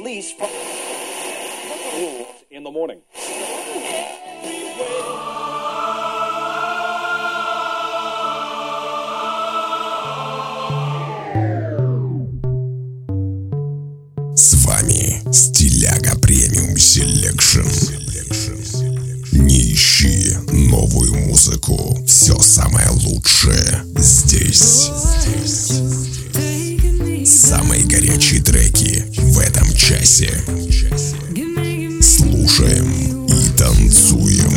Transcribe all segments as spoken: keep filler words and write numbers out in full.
release from in the morning. С вами Стиляга Премиум Селекшн. Не ищи новую музыку. Все самое лучшее здесь. Самые горячие треки в этом часе. Слушаем и танцуем.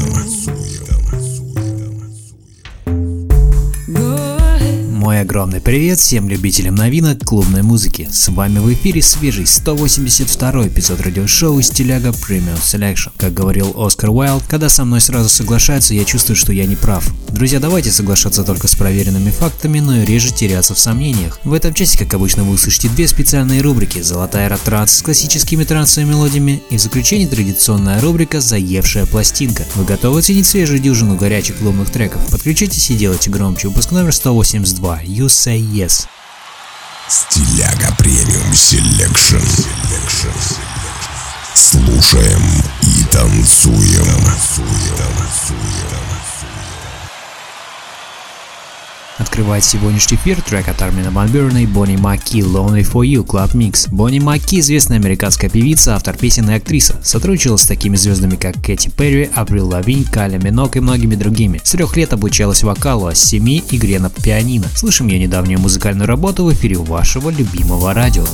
Мой огромный привет всем любителям новинок клубной музыки. С вами в эфире свежий сто восемьдесят второй эпизод радиошоу Стиляга Premium Selection. Как говорил Оскар Уайлд, когда со мной сразу соглашаются, я чувствую, что я не прав. Друзья, давайте соглашаться только с проверенными фактами, но и реже теряться в сомнениях. В этом часе, как обычно, вы услышите две специальные рубрики: золотая рок-транс с классическими трансовыми мелодиями и в заключение традиционная рубрика «Заевшая пластинка». Вы готовы оценить свежую дюжину горячих клубных треков? Подключитесь и делайте громче. Выпуск номер сто восемьдесят два. You Say Yes. Стиляга Премиум Селекшн. Слушаем и танцуем. Открывает сегодняшний эфир трек от Армина ван Бюрена и Бонни Макки «Lonely for You» Club Mix. Бонни Макки – известная американская певица, автор песен и актриса. Сотрудничала с такими звездами, как Кэти Перри, Аврил Лавинь, Кайли Минок и многими другими. С трех лет обучалась вокалу, а с семи – игре на пианино. Слышим ее недавнюю музыкальную работу в эфире вашего любимого радио.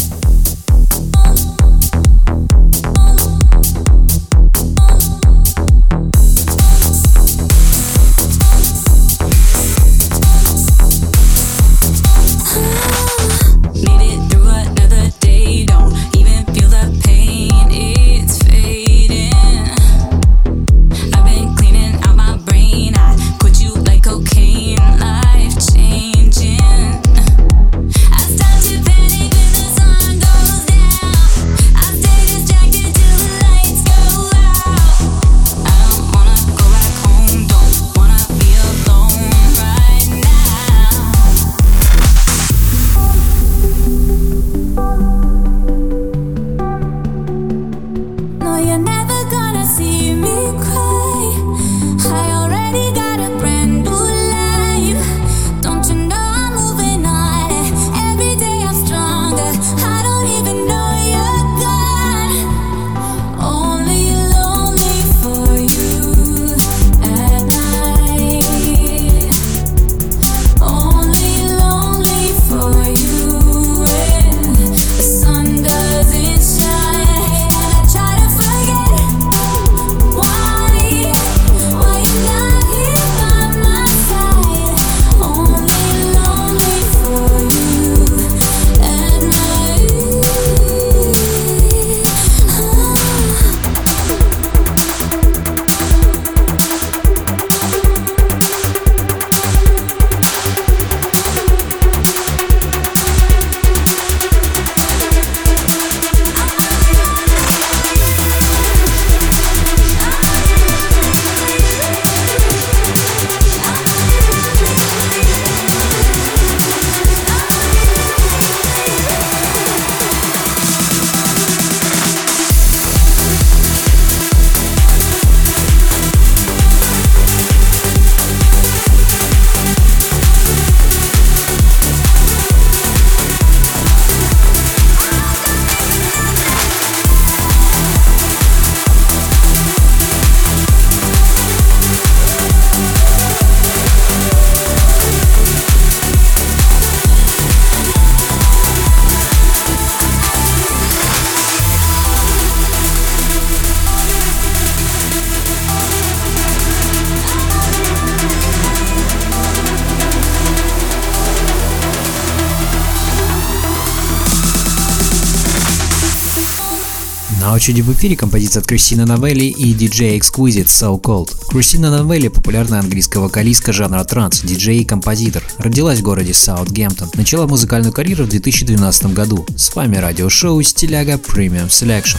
На очереди в эфире композиция от Кристина Новелли и диджей Exquisite So Cold. Кристина Новелли – популярная английская вокалистка жанра транс, диджей и композитор. Родилась в городе Саутгемптон. Начала музыкальную карьеру в две тысячи двенадцатом году. С вами радиошоу Стиляга Premium Selection.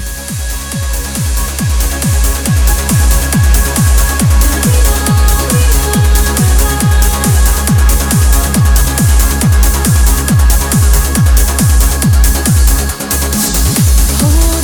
Hold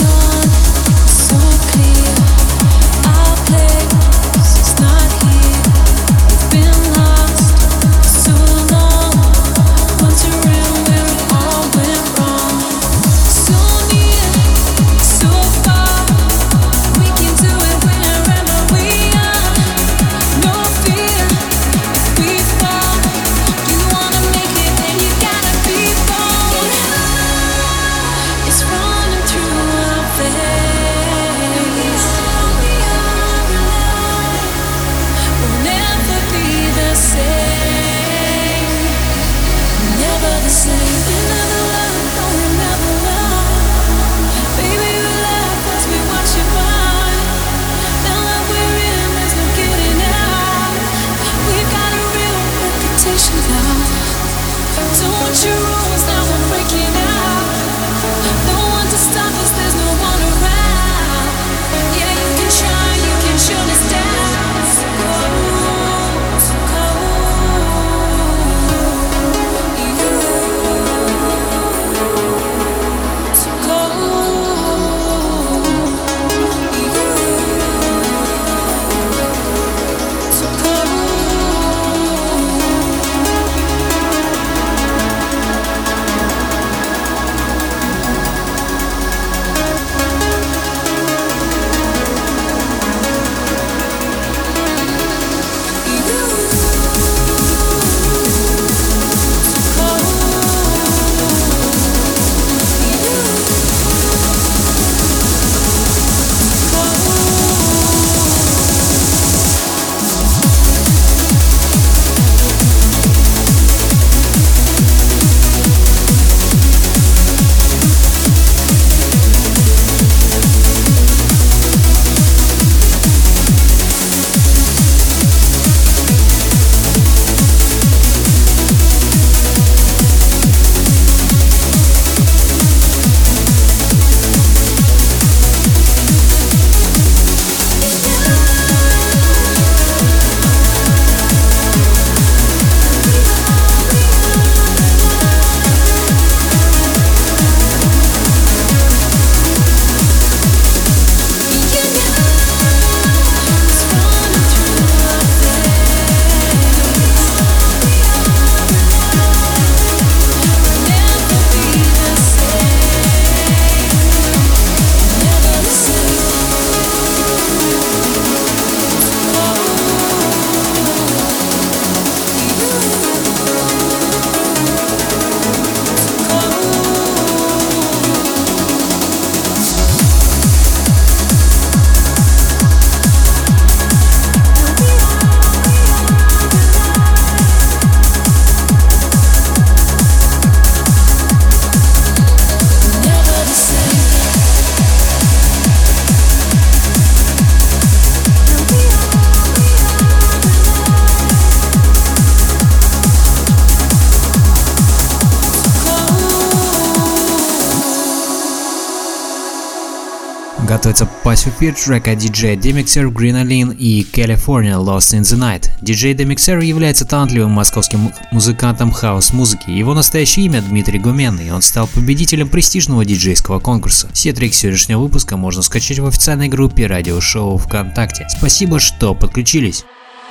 Готовится Pacific трек от диджея Demixer, Greenalin и California Lost in the Night. Диджей Demixer является талантливым московским музыкантом хаус-музыки. Его настоящее имя Дмитрий Гуменный, и он стал победителем престижного диджейского конкурса. Все треки сегодняшнего выпуска можно скачать в официальной группе радиошоу ВКонтакте. Спасибо, что подключились.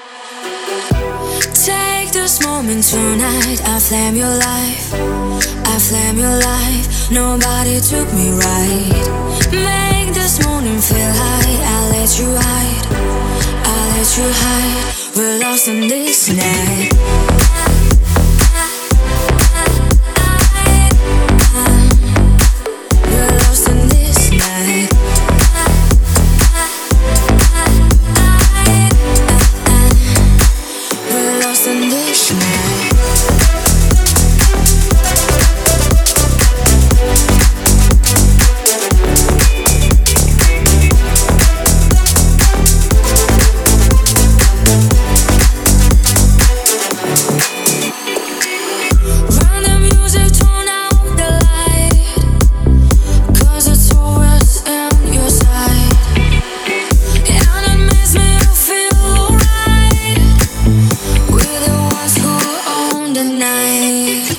This moment tonight, I flame your life, I flame your life, nobody took me right. Make this morning feel high, I'll let you hide, I'll let you hide, we're lost in this night. We're lost in this night. We're lost in this night. Run the music, turn out the light, 'cause it's always in your sight. And it makes me feel alright. We're the ones who own the night.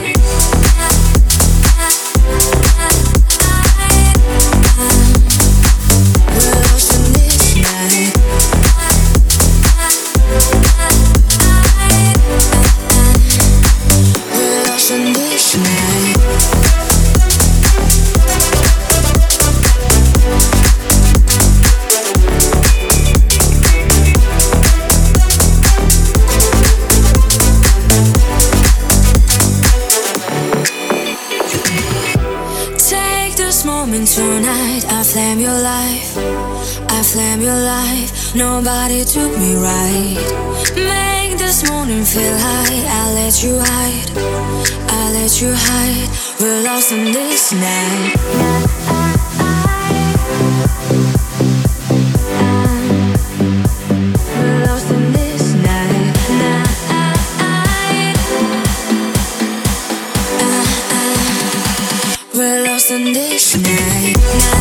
We're lost in this night. We're lost in this night. Take this moment tonight, I flame your life, I flame your life, nobody took me right. Make this morning feel high, I'll let you hide, I'll I let you hide. We're lost in this night. We're lost in this night. We're lost in this night.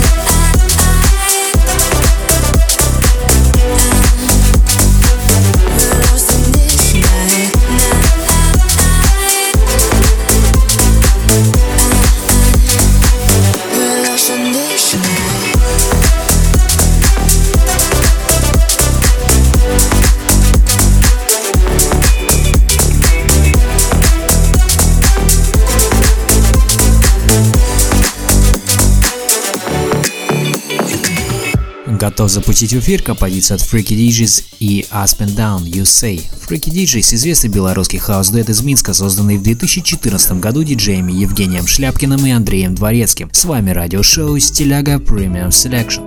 Готов запустить в эфир композицию от Freaky ди джейс и Up and Down, You Say. Freaky ди джейс – известный белорусский хаус-дуэт из Минска, созданный в две тысячи четырнадцатом году диджеями Евгением Шляпкиным и Андреем Дворецким. С вами радиошоу Стиляга Premium Selection.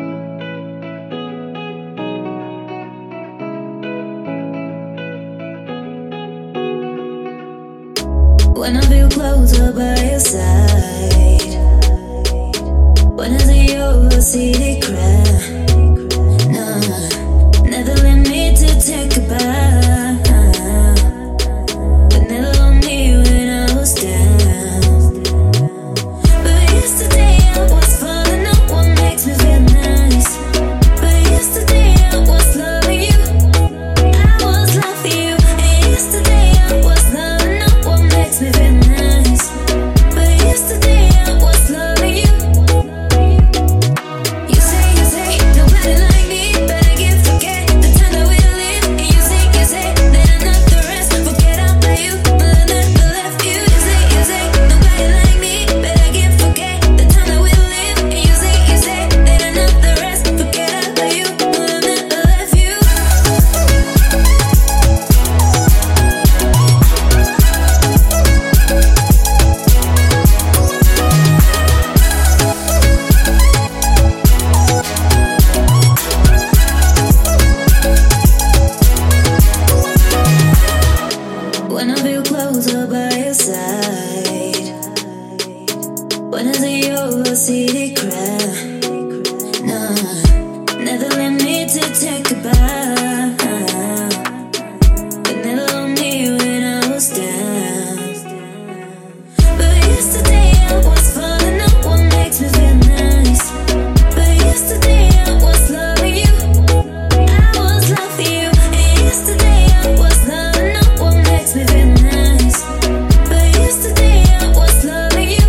When I feel closer by your side, when I see your city cry, no, never let me to take a bow, but never on me when I was down. But yesterday I was falling up, what makes me feel nice. But yesterday I was loving you, I was loving you. And yesterday I was loving up, what makes me feel nice. But yesterday I was loving you. You say, you say, nobody like me, but I can't forget the time that we lived. And you say, you say, that I'm not the rest, forget about you, but I never left you. You say, you say, nobody like me, but I can't forget the time that we lived. And you say, you say, that I'm not the rest, forget about you, but I never left you. When I feel closer by your side, when I see your city cry, no, never let me to take a bow, but never on me when I was down. But yesterday I was falling up, what makes me feel nice. But yesterday I was loving you, I was loving you. And yesterday I was loving up, what makes me feel nice. But yesterday I was loving you.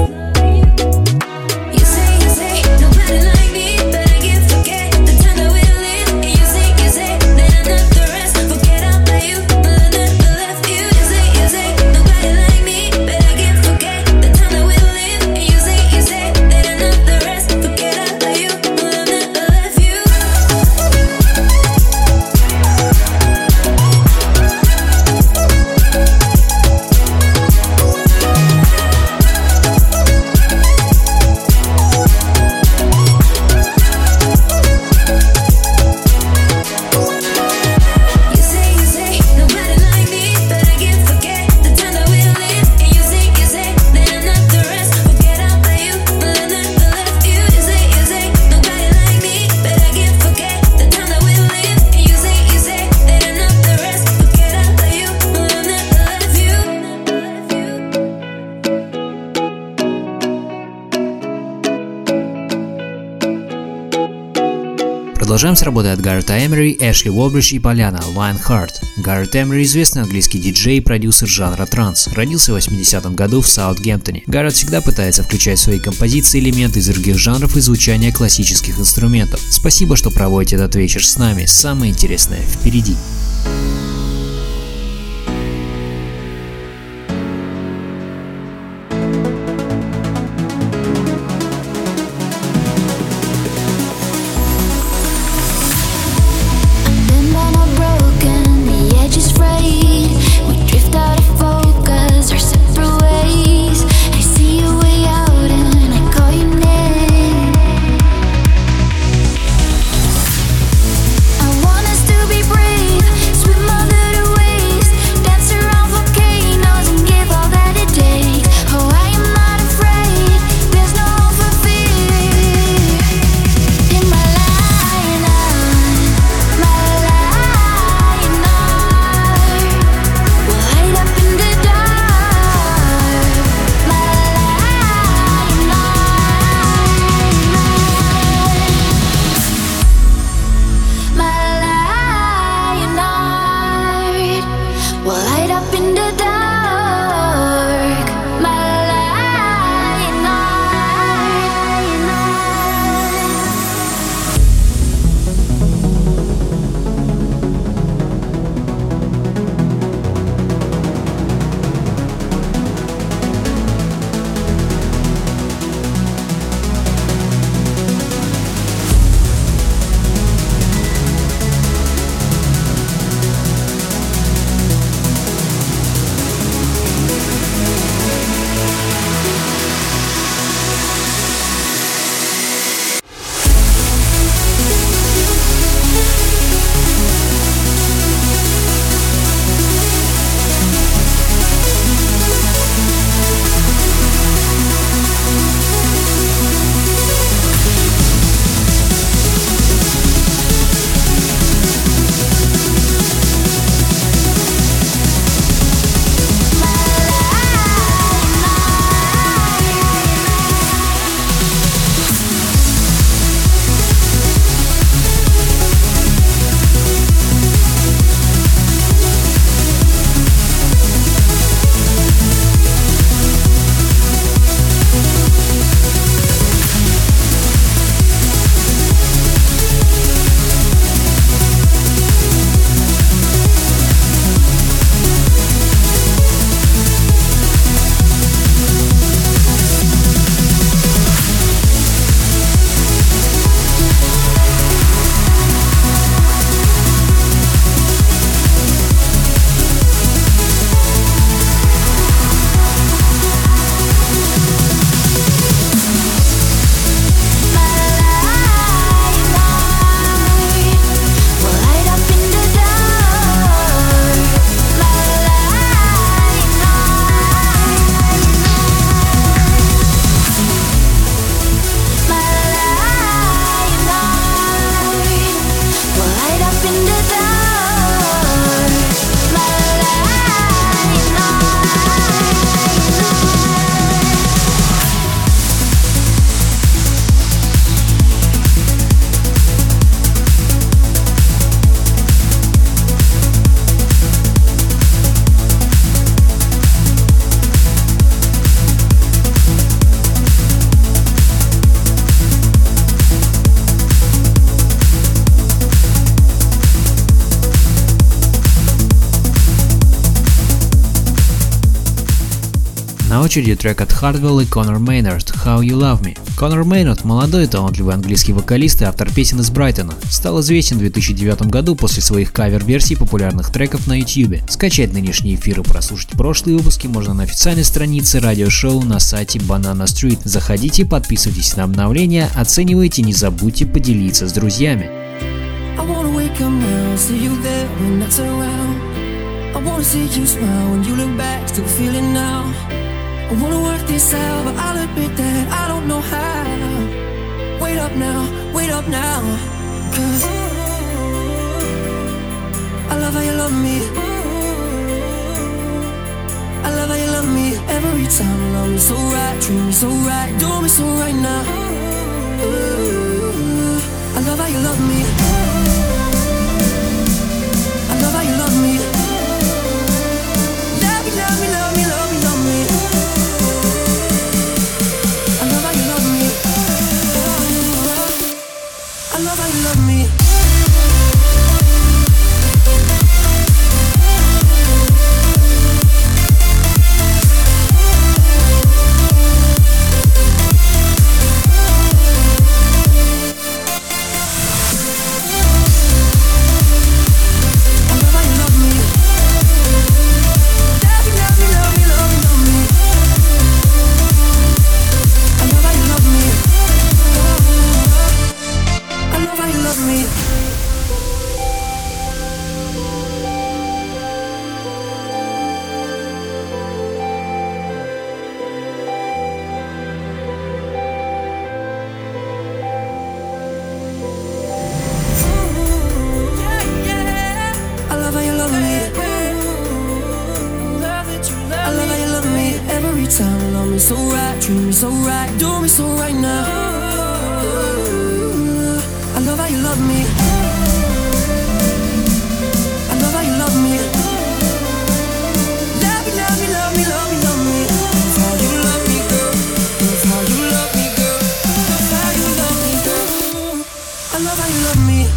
You say, you say, nobody like me, but I can't forget the time that we lived. And you say, you say, that I'm not the rest, forget about you, but I never left you. You say, you say, nobody like me, but I can't forget the time that we lived. And you say, you say, that I'm not the rest, forget about you, but I never left you. You say, you say, nobody like me, but I can't forget the time that we lived. And you say, you say, that I'm not the rest, forget about you, but I never left you. You say, you say, nobody like me, but I can't forget the time that we lived. And you say, you say, that I'm not the rest, forget about you, but I never left you. Продолжаем с работой от Гаррета Эмери, Эшли Уолбридж и Поляна Lionheart. Гаррет Эмери – известный английский диджей и продюсер жанра транс. Родился в восьмидесятом году в Саутгемптоне. Гаррет всегда пытается включать в свои композиции элементы из других жанров и звучания классических инструментов. Спасибо, что проводите этот вечер с нами. Самое интересное впереди. Been by my broken, the edge is frayed. We drift out of focus, our separate ways. I see you way out and I call your name. I want us to be brave, swim На очереди трек от Hardwell и Конор Мейнард «How You Love Me». Конор Мейнард – молодой и талантливый английский вокалист и автор песен из Брайтона. Стал известен в две тысячи девятом году после своих кавер-версий популярных треков на YouTube. Скачать нынешние эфиры и прослушать прошлые выпуски можно на официальной странице радиошоу на сайте Banana Street. Заходите, подписывайтесь на обновления, оценивайте, не забудьте поделиться с друзьями. I wanna see you smile when you look back, still feeling now. I wanna work this out, but I'll admit that I don't know how. Wait up now, wait up now, 'cause I love how you love me. I love how you love me. Every time you love me so right, treat me so right, do me so right now. Ooh, I love how you love me. I love how you love me. Love me, love me, love me, love me. I love how you love me. I love how you love me. So right, treat me so right, do me so right now. I love how you love me. I love how you love me. Love me, love me, love me, love me, love me. That's how you love me, girl. That's how you love me, girl. That's how you love me, girl. I love how you love me.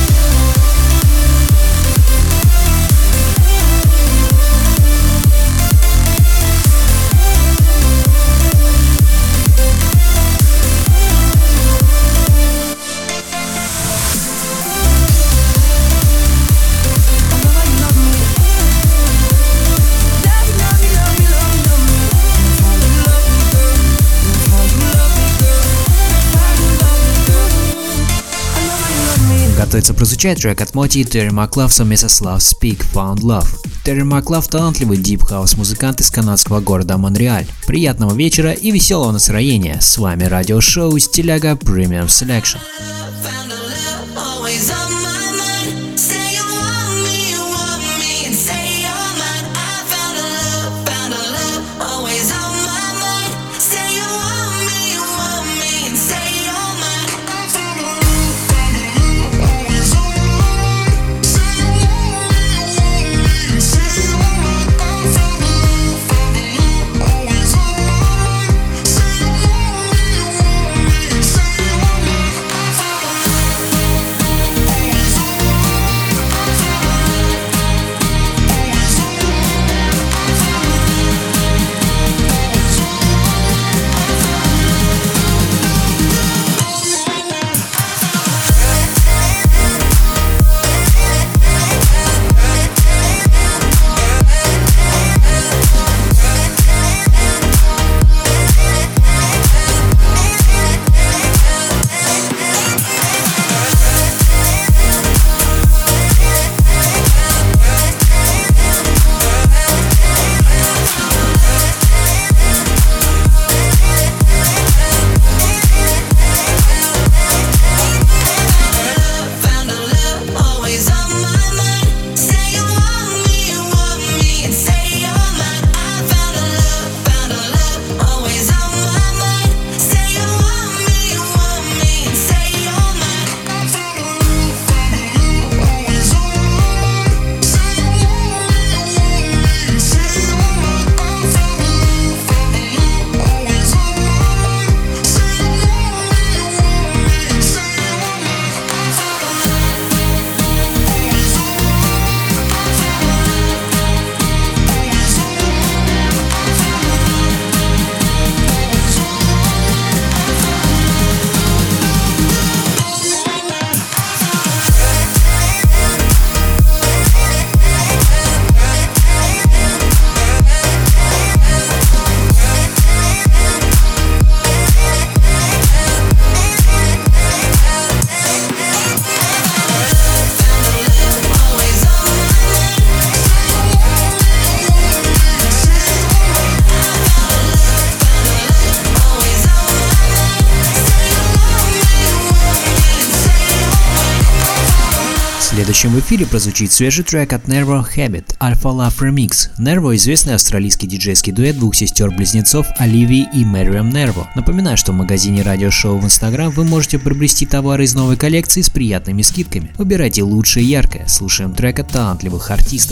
Готовится прозвучать трек от Моти и Терри Маклав совместно с Love Speak Found Love. Терри Маклав – талантливый дип-хаус-музыкант из канадского города Монреаль. Приятного вечера и веселого настроения. С вами радиошоу «Стиляга Premium Selection». Say следующем в эфире прозвучит свежий трек от Nervo Habit Alpha Love Remix. Nervo — известный австралийский диджейский дуэт двух сестер-близнецов Оливии и Мэриам Nervo. Напоминаю, что в магазине радиошоу в Instagram вы можете приобрести товары из новой коллекции с приятными скидками. Выбирайте лучшее и яркое. Слушаем трек от талантливых артистов.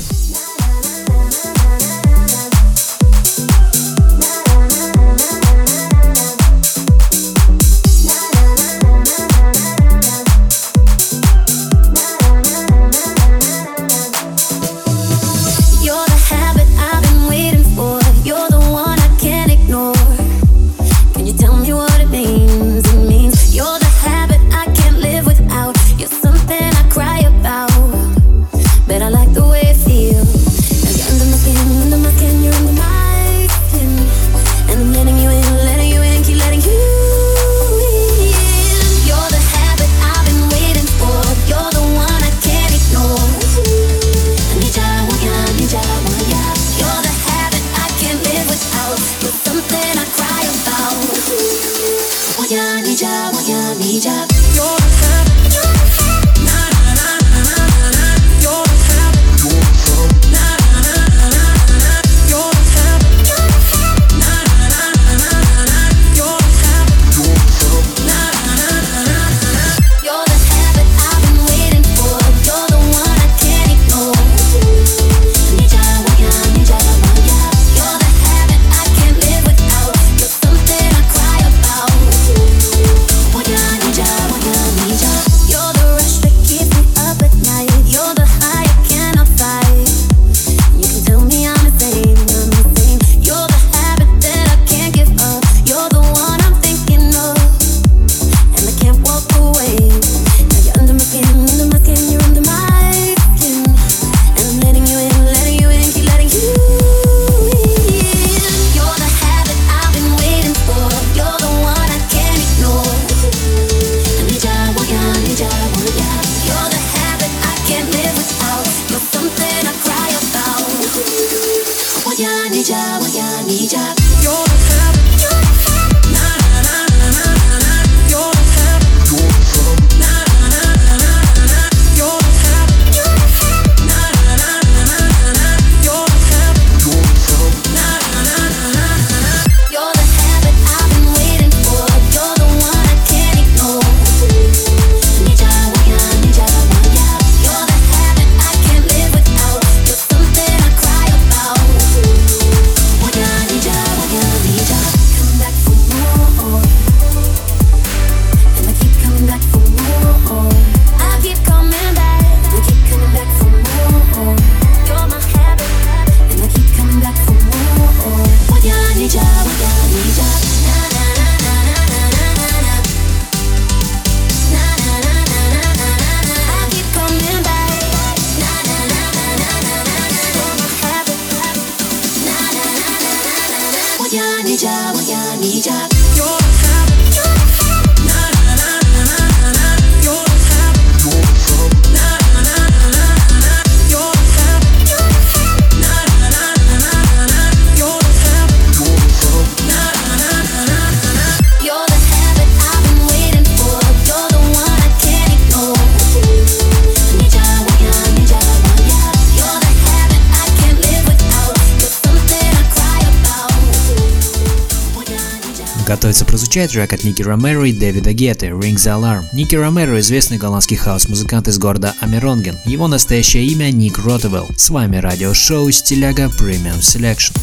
Готовится прозвучать трек от Ники Ромеро и Дэвида Гетты «Ring the Alarm». Ники Ромеро — известный голландский хаус-музыкант из города Амеронген. Его настоящее имя Ник Ротевелл. С вами радиошоу «Стиляга Premium Selection».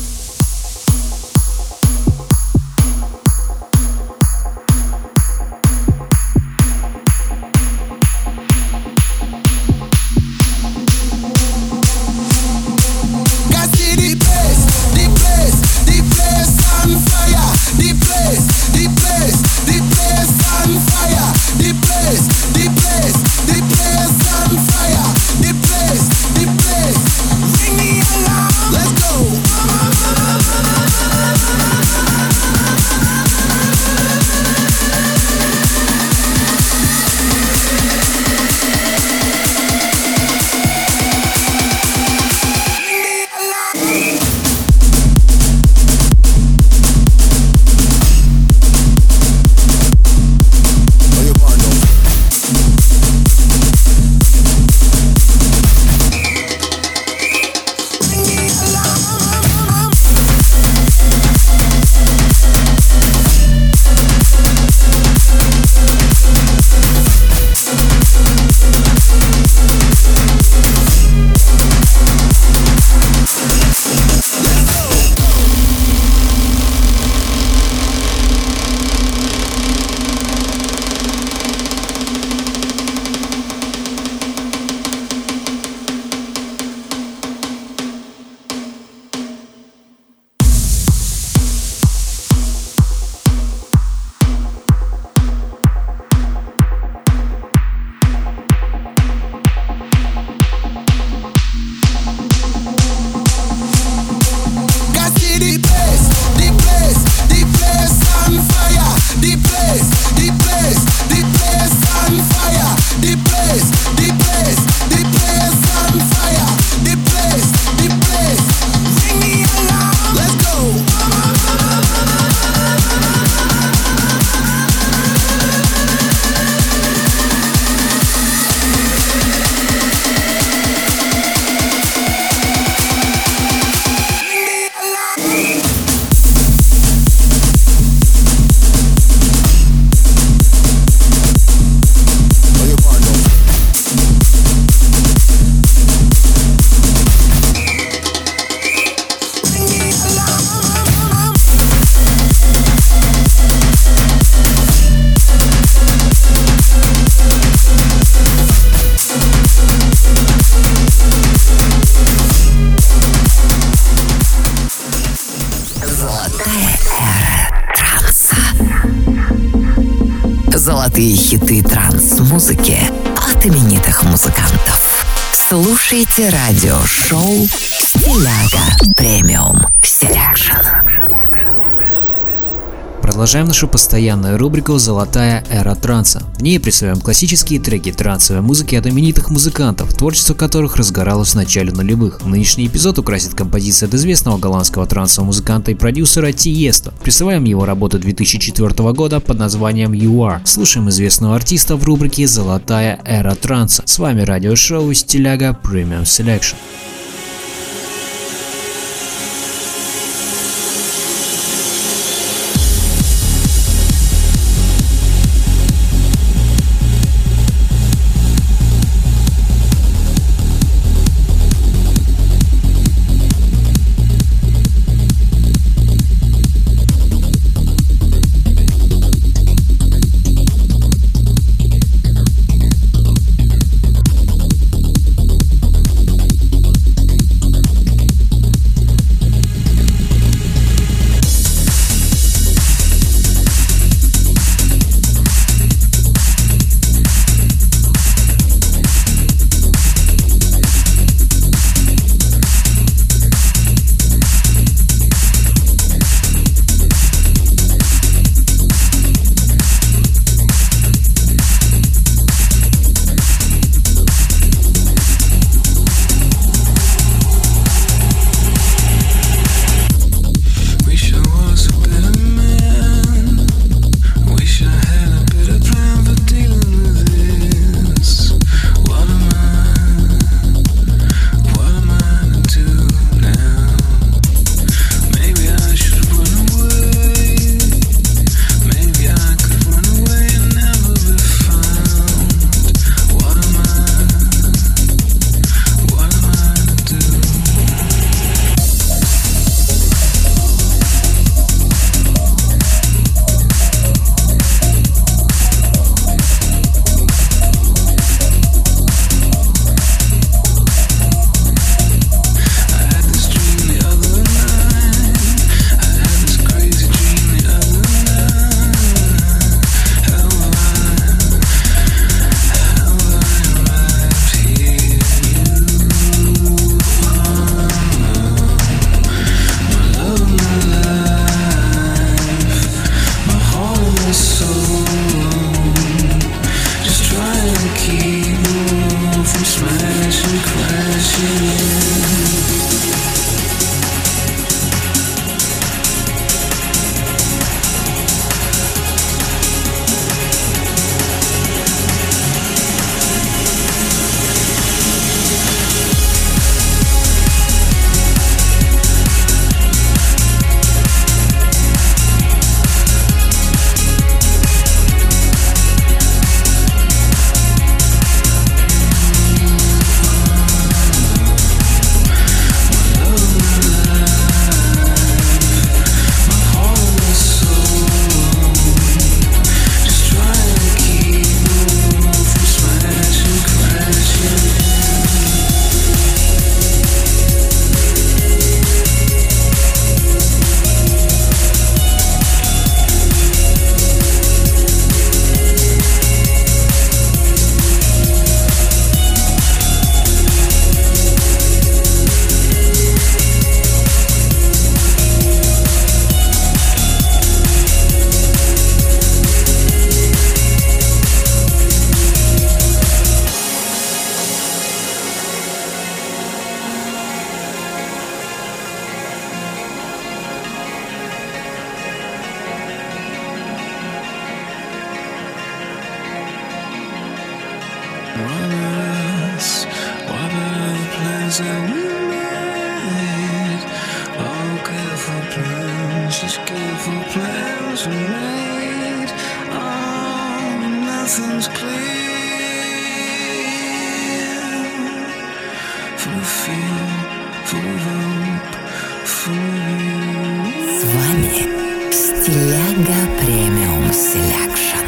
Ring the alarm. Let's go. Золотая эра транса. Золотые хиты транс-музыки от именитых музыкантов. Слушайте радиошоу «Стиляга Премиум Селекшн». Продолжаем нашу постоянную рубрику «Золотая эра транса». В ней представляем классические треки трансовой музыки от именитых музыкантов, творчество которых разгоралось в начале нулевых. Нынешний эпизод украсит композиция от известного голландского трансового музыканта и продюсера Тиесто. Представляем его работу две тысячи четвёртого года под названием You Are. Слушаем известного артиста в рубрике «Золотая эра транса». С вами радиошоу «Стиляга Премиум Селекшн». С вами Стиляга Премиум Селекшн.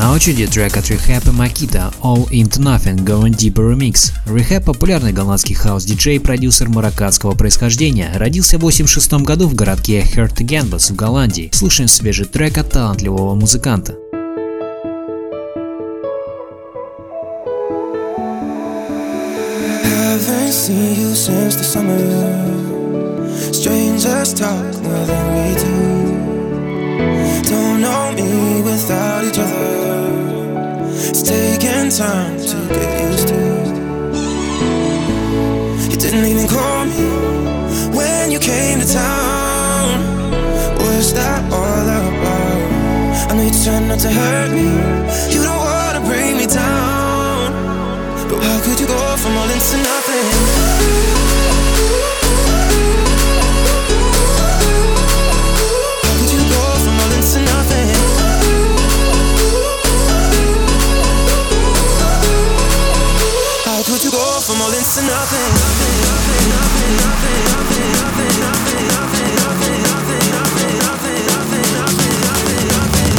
На очереди трек от Rehab и Makita All Into Nothing Going Deeper Remix. Rehab — популярный голландский хаус-диджей и продюсер марокканского происхождения. Родился в восемьдесят шестом году в городке Hertogenbosch в Голландии. Слушаем свежий трек от талантливого музыканта. Haven't seen you since the summer. Strangers talk more than we do. Don't know me without each other. It's taking time to get used to. You didn't even call me when you came to town. What's that all about? I know you try not to hurt me. You don't wanna bring me down. But how could you go from all into nothing? How could you go from all into nothing? How could you go from all into nothing? Nothing, nothing, nothing, nothing, nothing, nothing, nothing, nothing, nothing, nothing, nothing, nothing, nothing, nothing, nothing,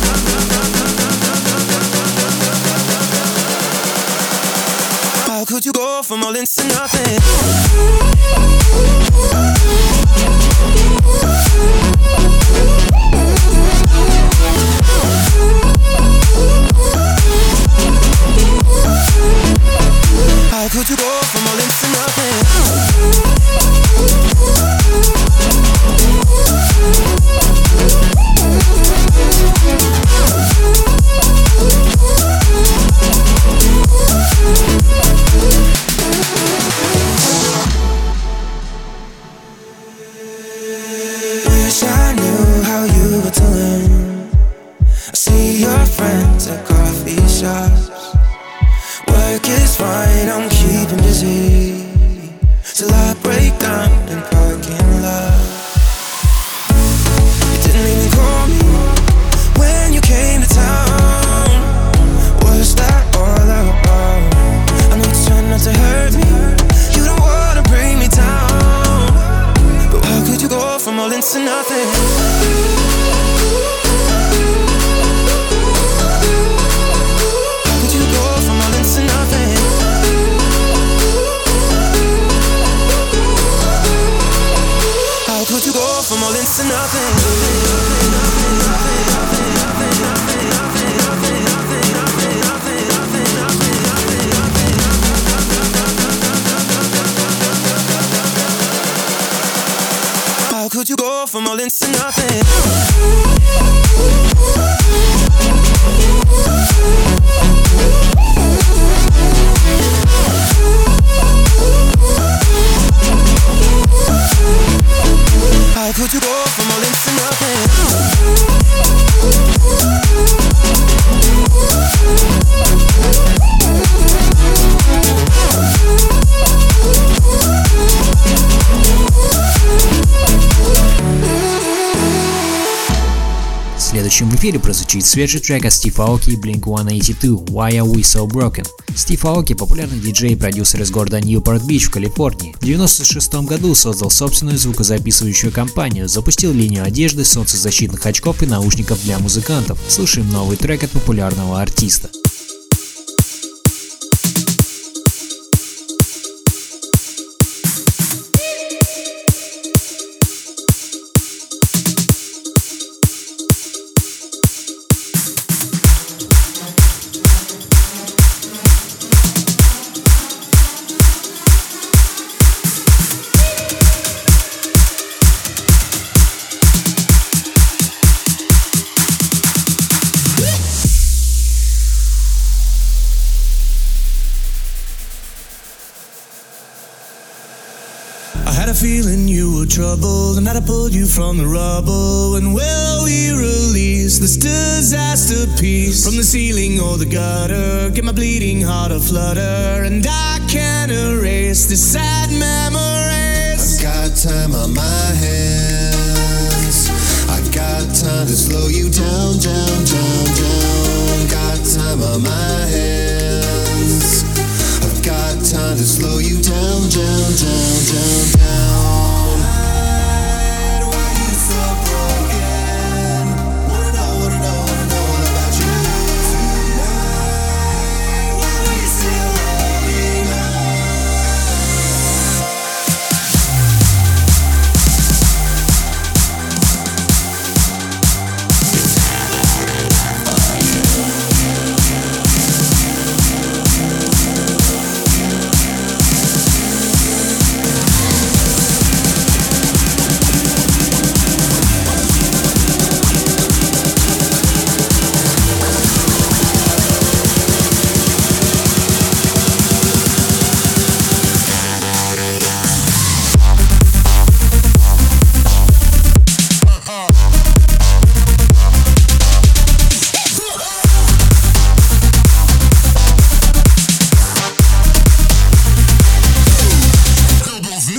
nothing. How could you go from all into nothing? How could you go from all into nothing? Wish I knew how you were doing. I see your friends at coffee shops. Work is fine, I'm keeping busy till I break down in parking lot. You didn't even call me when you came to town. What's that all about? I know you're trying not to hurt me. You don't wanna bring me down. But how could you go from all into nothing? Could you go from all into nothing? How could you go from all into nothing? How could you go from all into nothing? следующем в эфире прозвучит свежий трек от Стив Аоки и Blink сто восемьдесят два «Why Are We So Broken». Стив Аоки – популярный диджей и продюсер из города Ньюпорт-Бич в Калифорнии. В девяносто шестом году создал собственную звукозаписывающую компанию, запустил линию одежды, солнцезащитных очков и наушников для музыкантов. Слушаем новый трек от популярного артиста. Feeling you were troubled, and that I pulled you from the rubble. And will we release this disaster piece from the ceiling or the gutter? Get my bleeding heart a flutter, and I can't erase the sad memories. I've got time on my hands. I've got time to slow you down, down, down, down. Got time on my hands. I've got time to slow you down, down, down, down, down. Why you so broken? Wanna know, wanna know, wanna know all about you.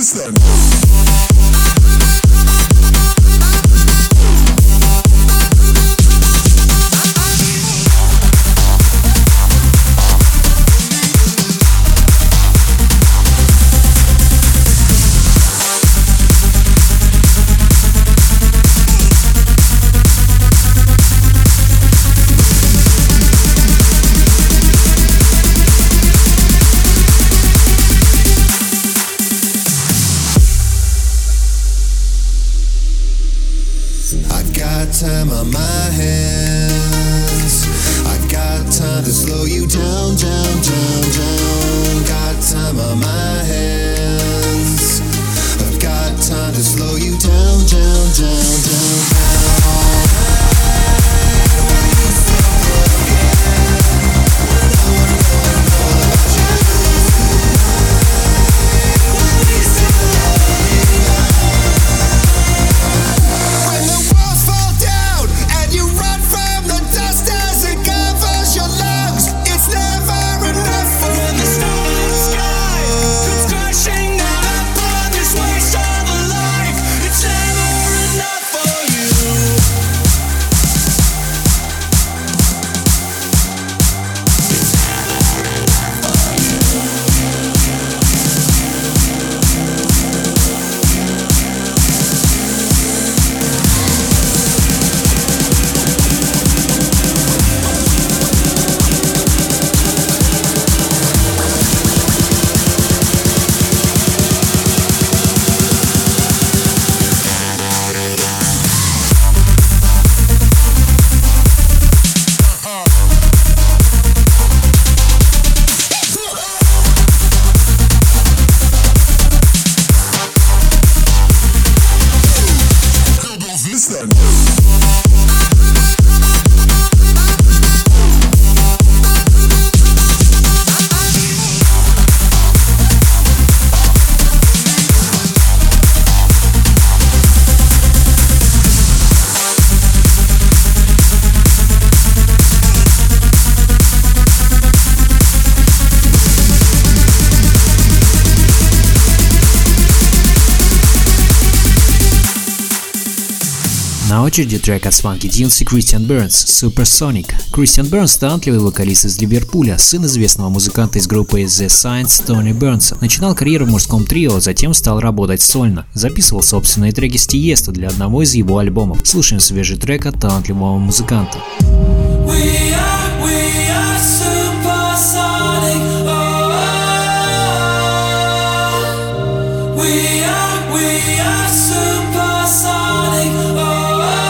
Time on my hands. I've got time to slow you down, down, down, down. Got time on my hands. I've got time to slow you down, down, down, down, down. When you stop working, when I wanna know, know about you. When we still love you. When the walls fall down and you run from the dust as it covers your lungs, it's never enough for when the starry sky comes crashing down upon this waste of a life. It's never enough for you. На очереди трек от Swanky Tunes и Christian Burns «Supersonic». Christian Burns – талантливый вокалист из Ливерпуля, сын известного музыканта из группы The Saints Тони Бернса. Начинал карьеру в мужском трио, затем стал работать сольно. Записывал собственные треки с Тиесто для одного из его альбомов. Слушаем свежий трек от талантливого музыканта. We are, we are supersonic. Oh, oh, oh. We are, we are supersonic. Oh, oh.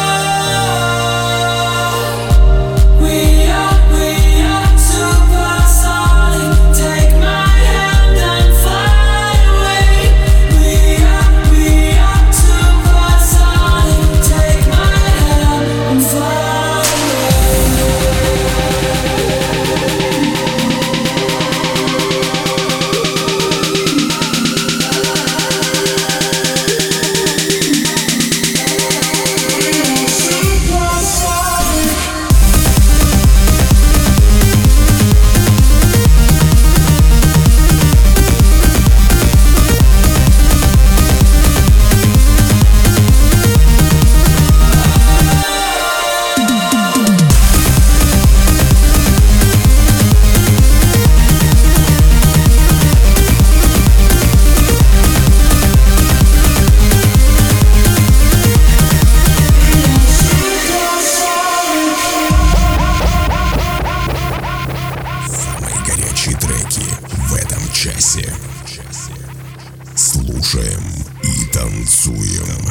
We are, we are supersonic. Take my hand and fly away. We are, we are supersonic. Take my hand and fly Самые горячие треки в этом часе. Слушаем и танцуем.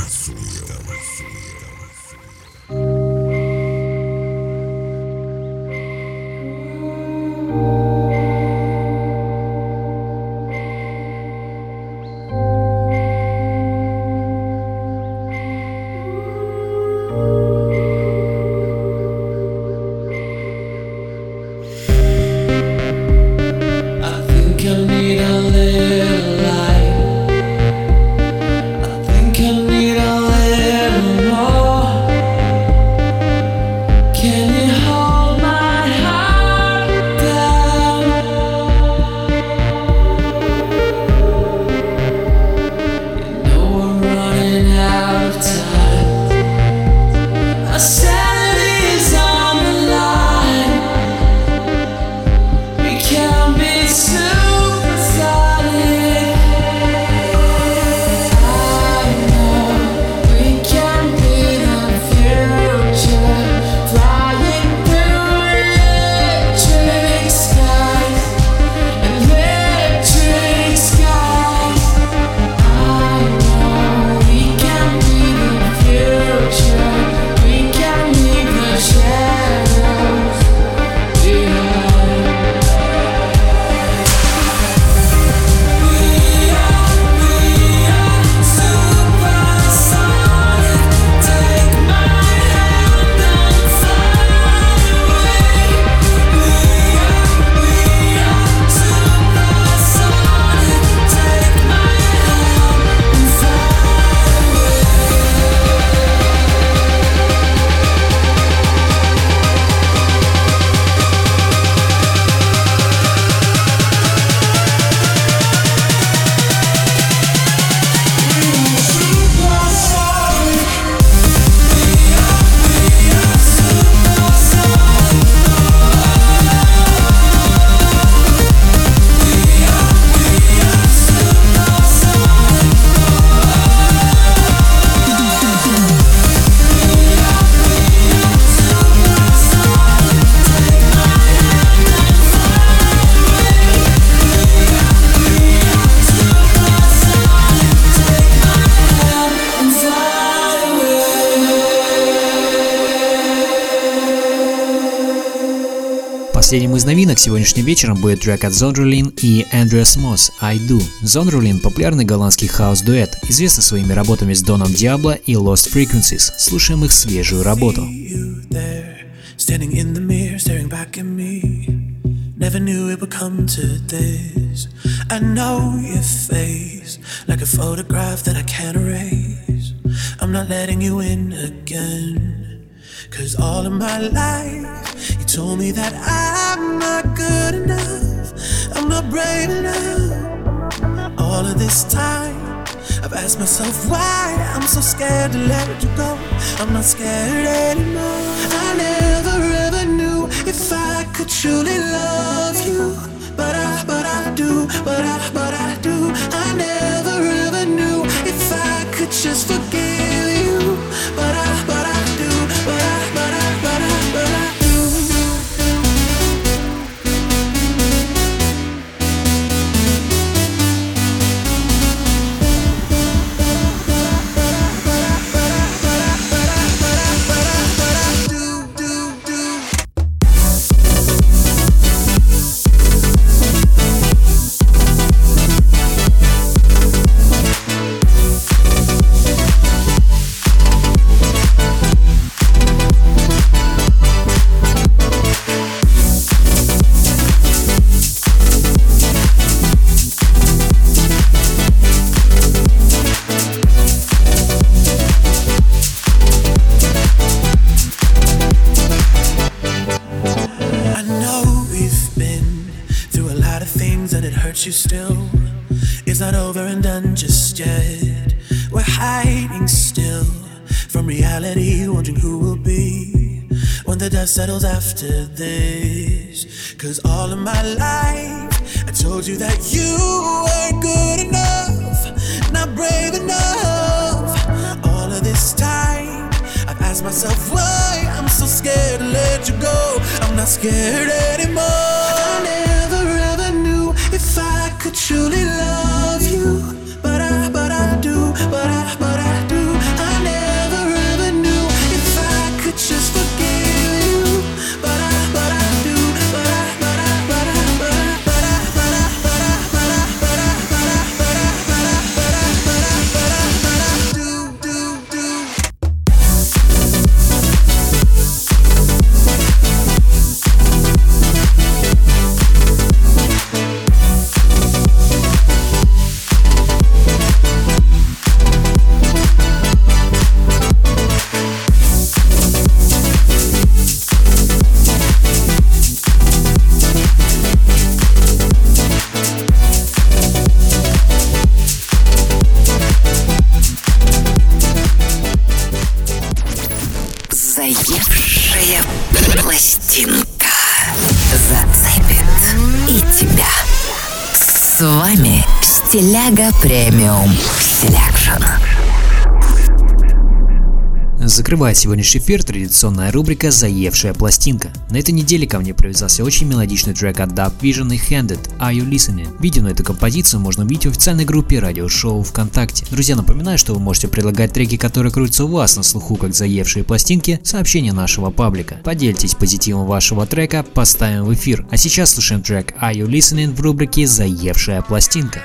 I think I need a little light. I think I need a little Последним из новинок сегодняшним вечером будет трек от Zonderlin и Andreas Moss «I Do». Zonderlin – популярный голландский хаус-дуэт, известный своими работами с Доном Диабло и Lost Frequencies. Слушаем их свежую работу. Standing in the mirror, staring back at me. Never knew it would come to this. I know your face, like a photograph that I can't erase. I'm not letting you in again. Cause all of my life, you told me that I'm not good enough. I'm not brave enough. All of this time, I've asked myself why I'm so scared to let you go. I'm not scared anymore. I never ever knew if I could truly love you, but I, but I do, but I, but I do. I never ever knew if I could just forgive you, but I, but I do, but I, but I, but I, but I do. You still, it's not over and done just yet. We're hiding still from reality, wondering who will be when the dust settles after this. Cause all of my life I told you that you weren't good enough, not brave enough. All of this time I've asked myself why I'm so scared to let you go. I'm not scared anymore. I never ever knew if I could truly love you, but I, but I do, but I, but I do. I never ever knew if I could just forgive you, but I, but I do, but I, but I, but I, but I, but I, but I, but I, but I, but I, but I, but I, but I, but I, but I, but I, but I do, do, do. Заевшая пластинка зацепит и тебя. С вами Стиляга Премиум Селекшн. Закрывает сегодняшний эфир традиционная рубрика «Заевшая пластинка». На этой неделе ко мне привязался очень мелодичный трек от Dub Vision и Handed «Are You Listening?». Видео на эту композицию можно увидеть в официальной группе радиошоу ВКонтакте. Друзья, напоминаю, что вы можете предлагать треки, которые крутятся у вас на слуху как заевшие пластинки, сообщения нашего паблика. Поделитесь позитивом вашего трека, поставим в эфир. А сейчас слушаем трек «Are You Listening» в рубрике «Заевшая пластинка».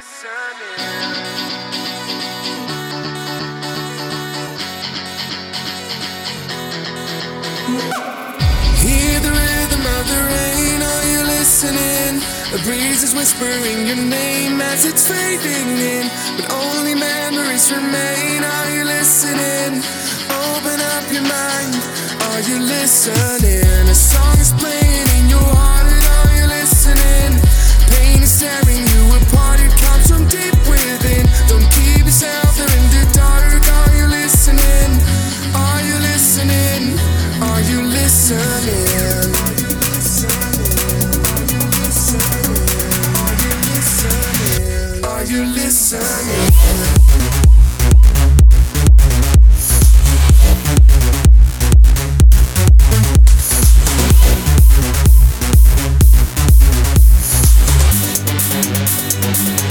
The breeze is whispering your name as it's fading in, but only memories remain. Are you listening? Open up your mind. Are you listening? A song is playing in your heart. Are you listening? Pain is tearing you apart. It comes from deep within. Don't keep yourself there in the dark. Are you listening? Are you listening? Are you listening? Are you listening? We'll be right back.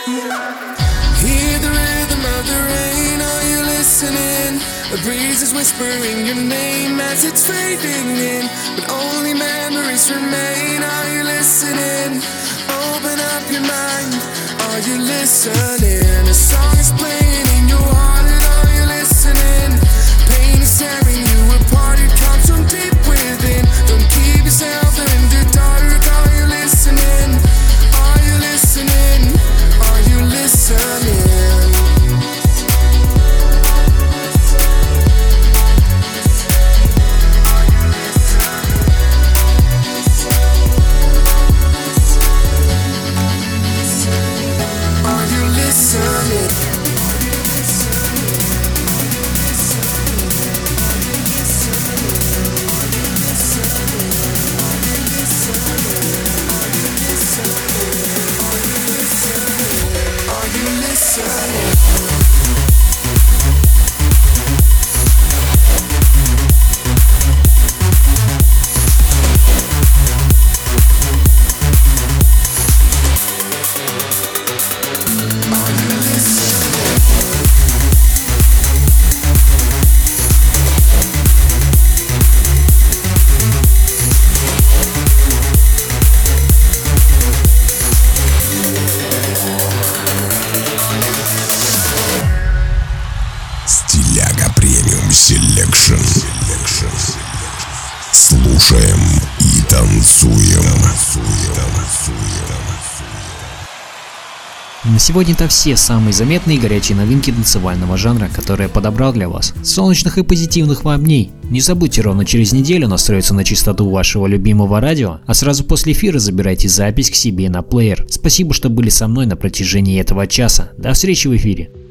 Hear the rhythm of the rain, are you listening? The breeze is whispering your name as it's fading in, but only memories remain. Are you listening? Open up your mind. Are you listening? A song is playing in your heart, and are you listening? Pain is tearing you apart, it comes from deep within. Don't keep yourself in the dark. Are you listening? Are you listening? Are you listening? Are you listening? Are you listening? Стиляга премиум селекшн. Слушаем и танцуем. На сегодня это все самые заметные и горячие новинки танцевального жанра, которые я подобрал для вас. Солнечных и позитивных вам дней. Не забудьте ровно через неделю настроиться на частоту вашего любимого радио, а сразу после эфира забирайте запись к себе на плеер. Спасибо, что были со мной на протяжении этого часа. До встречи в эфире.